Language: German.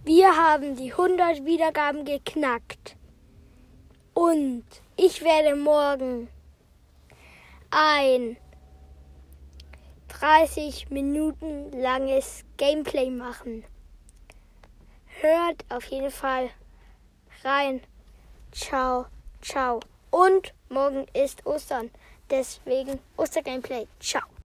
Wir haben die 100 Wiedergaben geknackt. Und ich werde morgen ein 30 Minuten langes Gameplay machen. Hört auf jeden Fall rein. Ciao, ciao. Und morgen ist Ostern. Deswegen Ostergameplay. Ciao.